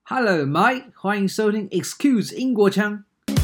Hello, Mike， 歡迎收聽 Excuse 英國腔。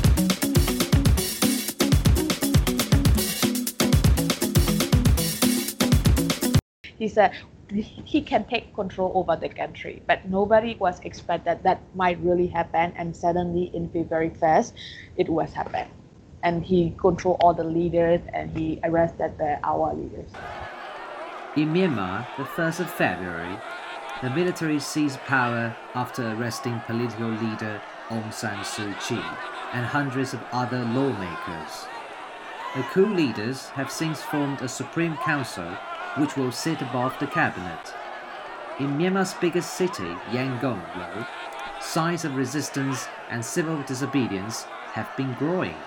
He said he can take control over the country, but nobody was expected that might really happen. And suddenly, in February 1st, it was happened. And he controlled all the leaders and he arrested our leaders. In Myanmar, the 1st of February, the military seized power after arresting political leader Aung San Suu Kyi and hundreds of other lawmakers. The coup leaders have since formed a Supreme Council which will sit above the cabinet. In Myanmar's biggest city, Yangon, though, signs of resistance and civil disobedience have been growing.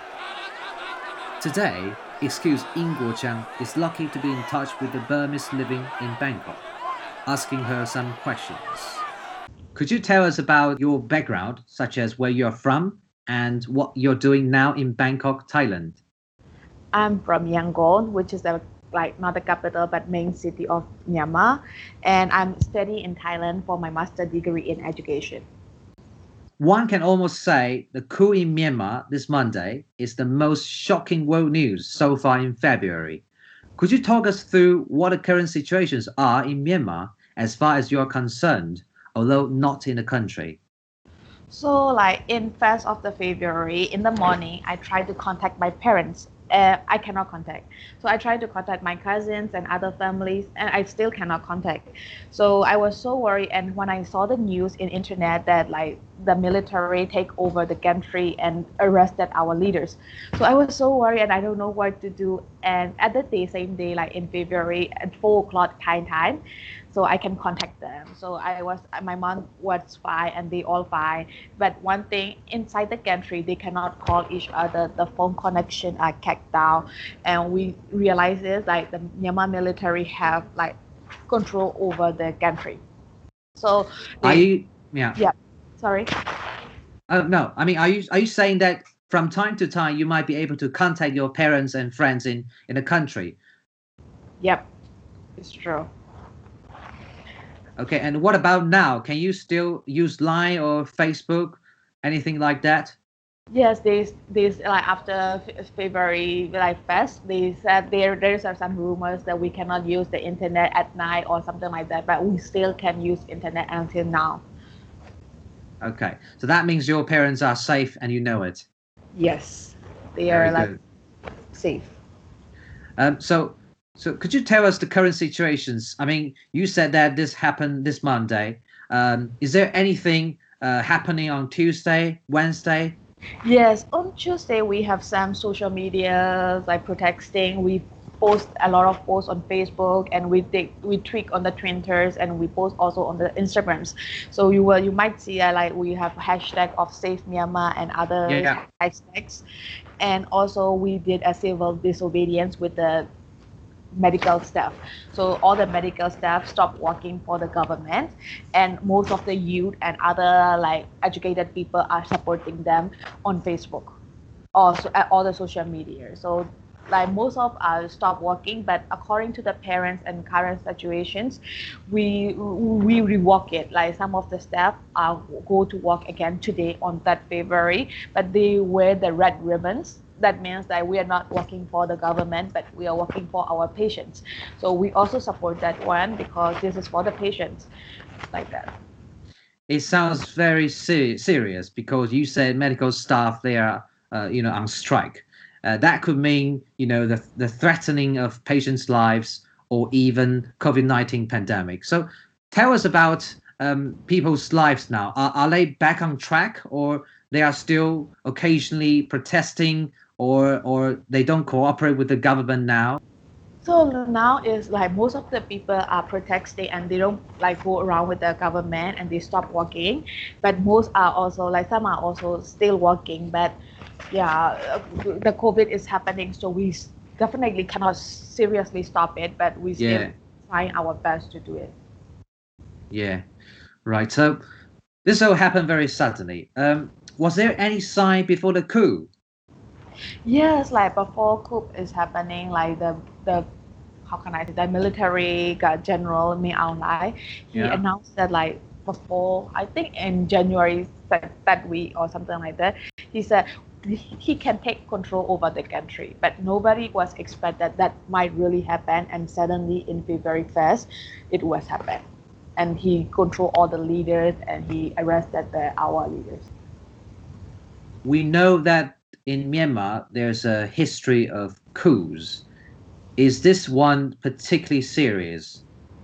Today, Excuse In Guo Chang is lucky to be in touch with the Burmese living in Bangkok, asking her some questions. Could you tell us about your background, such as where you're from and what you're doing now in Bangkok, Thailand? I'm from Yangon, which is not the capital but main city of Myanmar, and I'm studying in Thailand for my master's degree in education. One can almost say the coup in Myanmar this Monday is the most shocking world news so far in February. Could you talk us through what the current situations are in Myanmar as far as you're concerned, although not in the country? So in 1st of the February, in the morning, I tried to contact my parents. I cannot contact. So I tried to contact my cousins and other families, and I still cannot contact. So I was so worried. And when I saw the news in internet that the military take over the country and arrested our leaders, so I was so worried and I don't know what to do. And at the same day, in February at 4 o'clock Thai time, so I can contact them. So my mom was fine and they all fine. But one thing, inside the country, they cannot call each other. The phone connection are cut down. And we realized this, the Myanmar military have control over the country. So yeah. Sorry. No, I mean, are you saying that from time to time you might be able to contact your parents and friends in the country? Yep, it's true. Okay, and what about now? Can you still use Line or Facebook, anything like that? Yes, after February 1st, they said there's some rumors that we cannot use the internet at night or something like that, but we still can use internet until now. Okay, so that means your parents are safe and you know it. Yes, they Very are good. Safe. So could you tell us the current situations? I mean, you said that this happened this Monday. Is there anything happening on Tuesday, Wednesday? Yes, on Tuesday we have some social media protesting. We post a lot of posts on Facebook and we tweak on the Twitters and we post also on the Instagrams. So you might see we have hashtag of Save Myanmar and other hashtags, and also we did a civil disobedience with the medical staff. So all the medical staff stopped working for the government, and most of the youth and other educated people are supporting them on Facebook, also at all the social media. So most of us stopped working, but according to the parents and current situations, we rework it. Some of the staff go to work again today on that February, but they wear the red ribbons. That means that we are not working for the government, but we are working for our patients. So we also support that one because this is for the patients, like that. It sounds very serious because you said medical staff, they are, on strike. That could mean, the threatening of patients' lives or even COVID-19 pandemic. So tell us about people's lives now. Are they back on track, or they are still occasionally protesting, or they don't cooperate with the government now? So now is most of the people are protesting and they don't go around with the government and they stop working. But most are also some are also still working. But yeah, the COVID is happening, so we definitely cannot seriously stop it. But we still trying our best to do it. Yeah, right. So this all happened very suddenly. Was there any sign before the coup? Yes, before coup is happening, the how can I say, the military general Min Aung Hlaing, he announced that before, I think in January that week or something like that, he said he can take control over the country, but nobody was expected that might really happen, and suddenly in February 1st, it was happened, and he controlled all the leaders and he arrested our leaders. We know that in Myanmar there's a history of coups. Is this one particularly serious?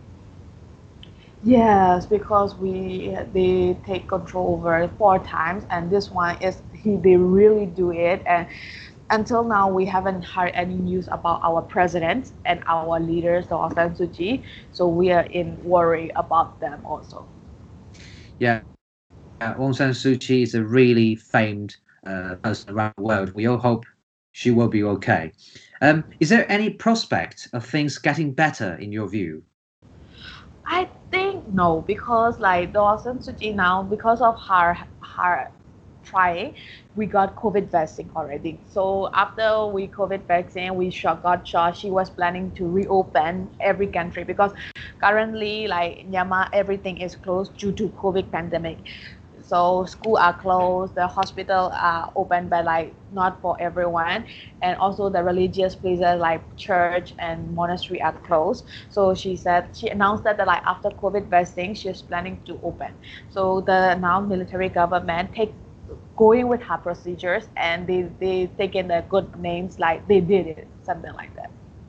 Yes, because they take control over 4 times, and this one is they really do it. And until now, we haven't heard any news about our president and our leaders, Aung San Suu Kyi. So we are in worry about them also. Yeah, Aung San Suu Kyi is a really famed person around the world. We all hope she will be okay. Is there any prospect of things getting better in your view? I think no, because like Aung San Suu Kyi now, because of her trying, we got COVID vaccine already. So after we COVID vaccine, we got shot. She was planning to reopen every country because currently, like Myanmar, everything is closed due to COVID pandemic. So school are closed, the hospital are open, but like not for everyone, and also the religious places like church and monastery are closed. So she announced that like after COVID vaccine, she's planning to open. So the now military government going with her procedures, and they taken the good names like they did it, something like that.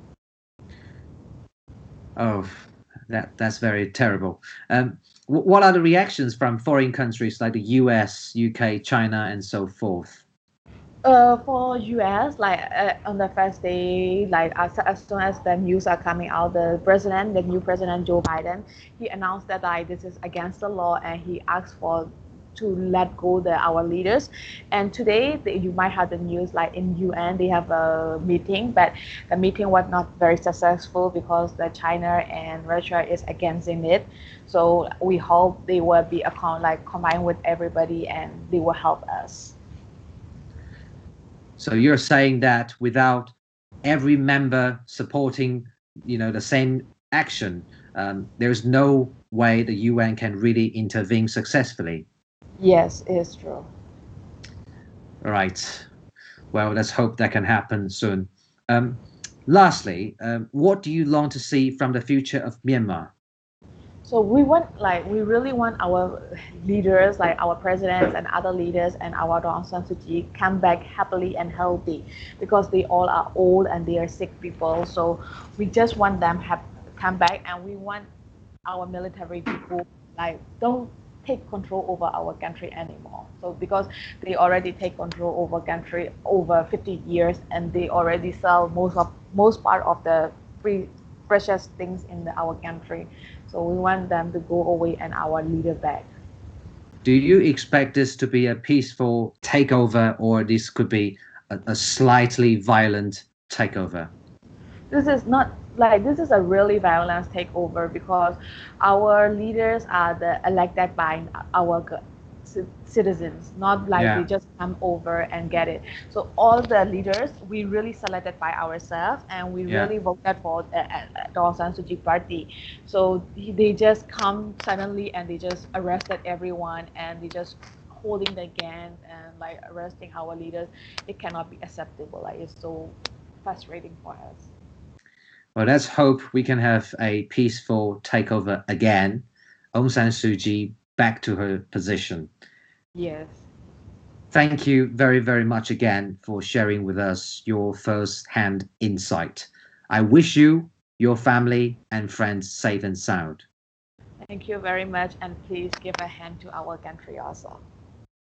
Oh, that's very terrible. What are the reactions from foreign countries like the US, UK, China, and so forth? For US, like on the first day, like as soon as the news are coming out, the new president Joe Biden, he announced that like this is against the law, and he asked for to let go our leaders. And today you might have the news like in UN they have a meeting, but the meeting was not very successful because the China and Russia is against it. So we hope they will be combined with everybody and they will help us. So you're saying that without every member supporting, the same action, there's no way the UN can really intervene successfully. Yes, it's true. Right. Well, let's hope that can happen soon. Lastly, what do you long to see from the future of Myanmar? So we really want our leaders, like our presidents and other leaders and our Aung San Suu Kyi come back happily and healthy, because they all are old and they are sick people. So we just want them have come back, and we want our military people like don't take control over our country anymore. So because they already take control over country over 50 years, and they already sell most part of the free precious things in our country. So we want them to go away and our leader back. Do you expect this to be a peaceful takeover, or this could be a slightly violent takeover? This is not this is a really violent takeover, because our leaders are the elected by our citizens, not like they just come over and get it. So all the leaders we really selected by ourselves, and we really voted for the Aung San Suu Kyi party. So they just come suddenly and they just arrested everyone, and they just holding the guns and like arresting our leaders. It cannot be acceptable. Like it's so frustrating for us. Well, let's hope we can have a peaceful takeover again. Aung San Suu Kyi back to her position. Yes. Thank you very, very much again for sharing with us your first-hand insight. I wish you, your family, and friends safe and sound. Thank you very much, and please give a hand to our country also.